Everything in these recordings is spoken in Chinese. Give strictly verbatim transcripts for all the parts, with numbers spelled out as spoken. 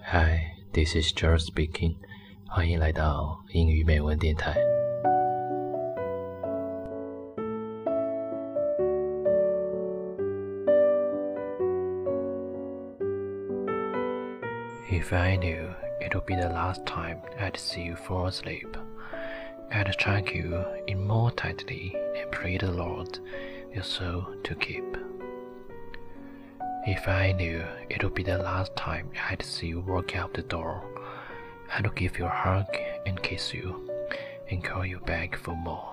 Hi, this is George speaking. 欢迎来到英语美文电台。If I knew it would be the last time I'd see you fall asleep, I'd track you in more tightly and pray the Lord your soul to keep. If I knew it would be the last time I'd see you walk out the door, I'd give you a hug and kiss you and call you back for more.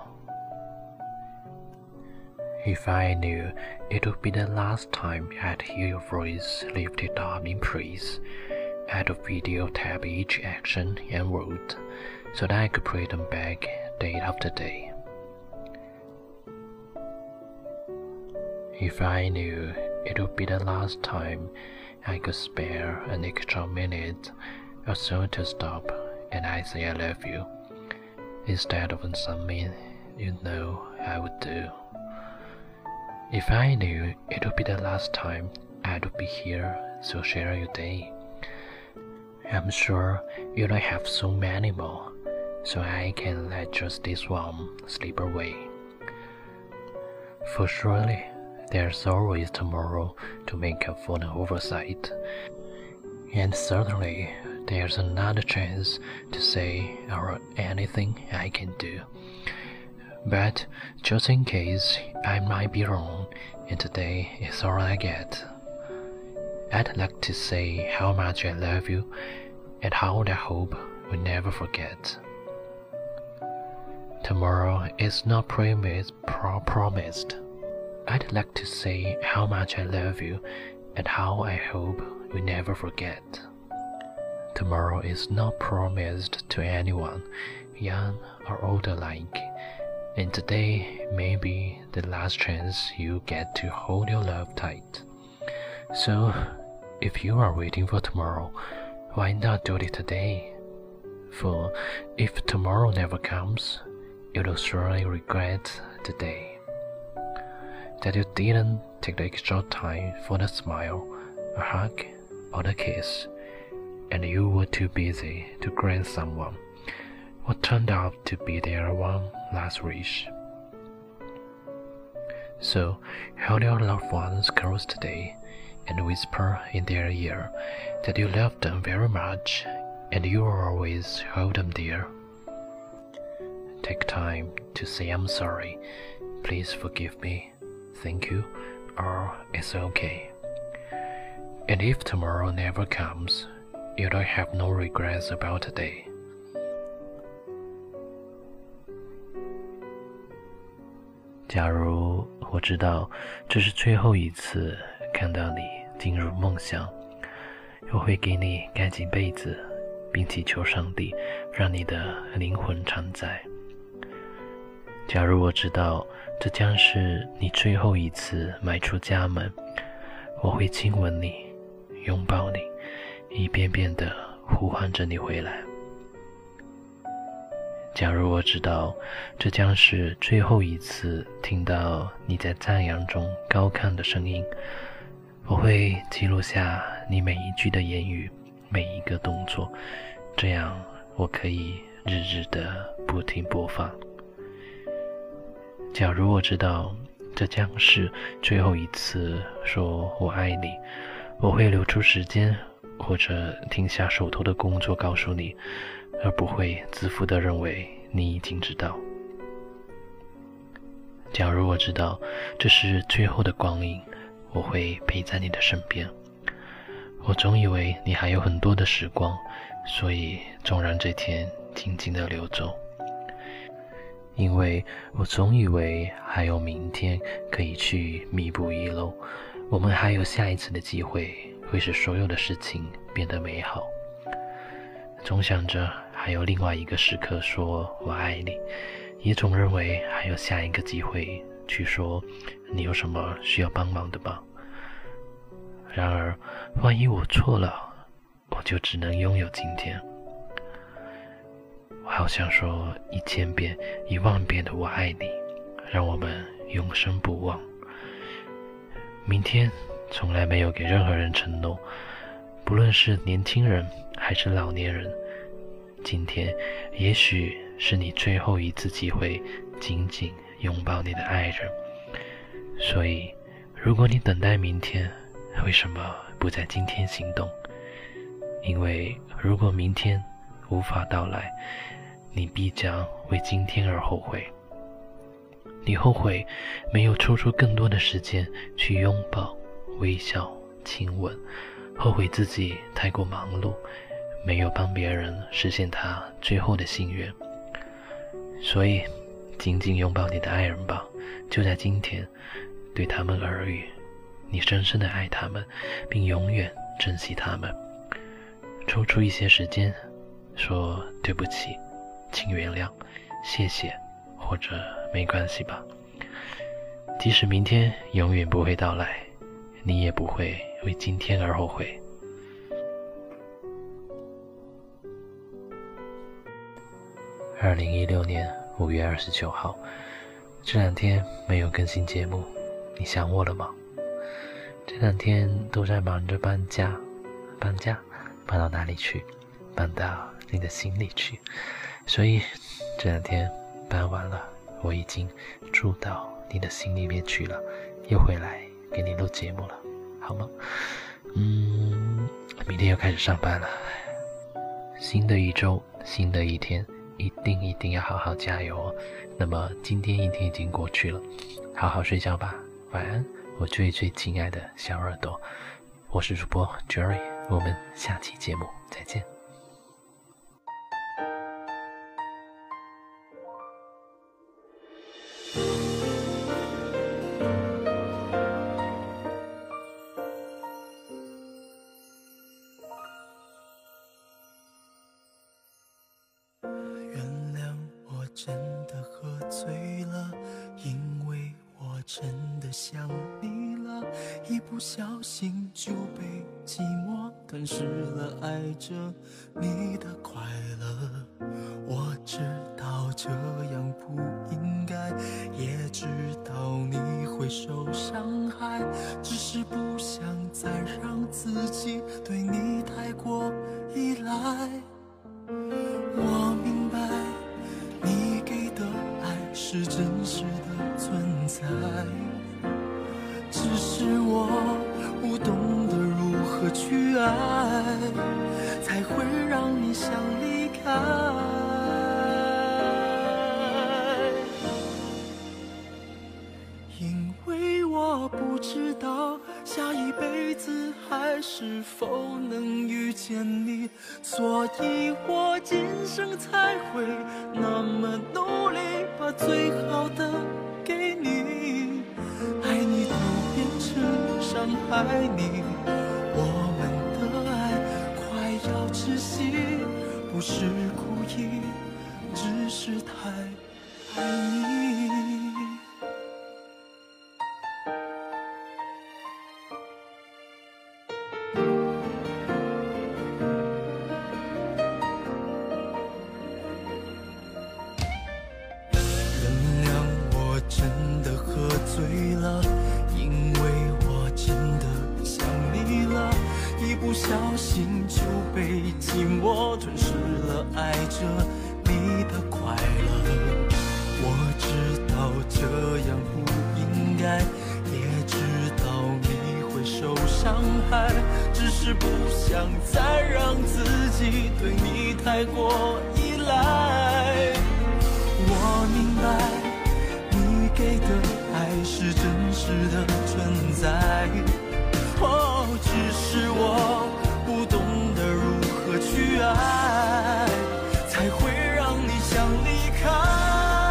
If I knew it would be the last time I'd hear your voice lifted up in praise, I'd videotape each action and word so that I could play them back day after day. If I knew it would be the last time I could spare an extra minute or so to stop and I say I love you, instead of something you know I would do. If I knew it would be the last time I would be here to share your day, I'm sure you don't have so many more, so I can let just this one slip away. For surely there's always tomorrow to make up for an oversight, and certainly there's another chance to say or anything I can do. But just in case I might be wrong and today is all I get, I'd like to say how much I love you and how I hope we never forget. Tomorrow is not promised, pro promised. I'd like to say how much I love you and how I hope we never forget. Tomorrow is not promised to anyone, young or old alike, and today may be the last chance you get to hold your love tight. So, if you are waiting for tomorrow, why not do it today? For if tomorrow never comes, you will surely regret today that you didn't take the extra time for the smile, a hug, or the kiss, and you were too busy to grant someone what turned out to be their one last wish. So, hold your loved ones close today and whisper in their ear that you love them very much and you will always hold them dear. Take time to say I'm sorry, please forgive me, thank you, or it's okay. And if tomorrow never comes, you don't have no regrets about today. 假如我知道这是最后一次看到你进入梦乡，我会给你盖紧被子，并祈求上帝让你的灵魂常在。假如我知道这将是你最后一次迈出家门，我会亲吻你，拥抱你，一遍遍地呼唤着你回来。假如我知道这将是最后一次听到你在赞扬中高亢的声音，我会记录下你每一句的言语，每一个动作，这样我可以日日的不停播放。假如我知道这将是最后一次说我爱你，我会留出时间或者停下手头的工作告诉你，而不会自负地认为你已经知道。假如我知道这是最后的光阴，我会陪在你的身边。我总以为你还有很多的时光，所以总让这天静静地流走。因为我总以为还有明天可以去弥补遗漏，我们还有下一次的机会，会使所有的事情变得美好。总想着还有另外一个时刻说我爱你，也总认为还有下一个机会去说你有什么需要帮忙的吧。然而万一我错了，我就只能拥有今天。我好想说一千遍一万遍的我爱你，让我们永生不忘。明天从来没有给任何人承诺，不论是年轻人还是老年人，今天也许是你最后一次机会紧紧拥抱你的爱人。所以如果你等待明天，为什么不在今天行动？因为如果明天无法到来，你必将为今天而后悔。你后悔没有抽出更多的时间去拥抱、微笑、亲吻，后悔自己太过忙碌，没有帮别人实现他最后的心愿。所以紧紧拥抱你的爱人吧，就在今天，对他们耳语，你深深的爱他们，并永远珍惜他们。抽出一些时间，说对不起，请原谅，谢谢，或者没关系吧。即使明天永远不会到来，你也不会为今天而后悔。二零一六年五月二十九号，这两天没有更新节目，你想我了吗？这两天都在忙着搬家，搬家搬到哪里去？搬到你的心里去。所以这两天搬完了，我已经住到你的心里面去了，又回来给你录节目了，好吗？嗯，明天又开始上班了，新的一周，新的一天，一定一定要好好加油哦。那么今天一天已经过去了，好好睡觉吧，晚安，我最最亲爱的小耳朵。我是主播 Jerry， 我们下期节目再见。 真的喝醉了，因为我真的想你了，一不小心就被寂寞吞噬了爱着你的快乐。我知道这样不应该，也知道你会受伤害，只是不想再让自己对你太过依赖。我明白你给的爱是真实的存在，只是我不懂得如何去爱，才会让你想离开。因为我不知道下一辈子还是否能遇见你，所以我今生才会那么努力，把最好的给你。爱你都变成伤害你，我们的爱快要窒息，不是故意，只是太爱你。醉了，因为我真的想你了，一不小心就被寂寞吞噬了爱着你的快乐。我知道这样不应该，也知道你会受伤害，只是不想再让自己对你太过依赖。我明白你给的爱是真实的存在，哦，只是我不懂得如何去爱，才会让你想离开。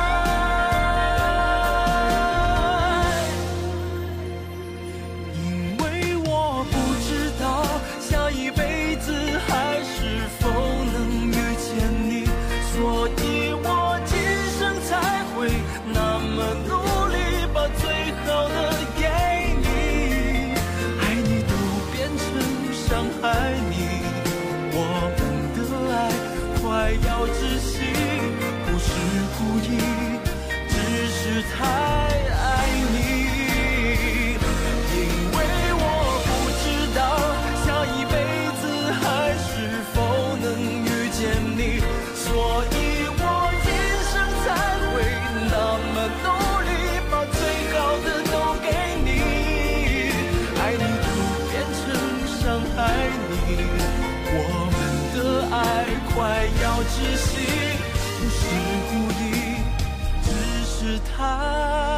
因为我不知道下一辈子还是否能遇见你，所以我今生才会那么努力，把最好的给你。爱你都变成伤害你，我们的爱快要窒息，不是故意，只是太爱你。因为我不知道下一辈子还是否窒息，不是故意，只是太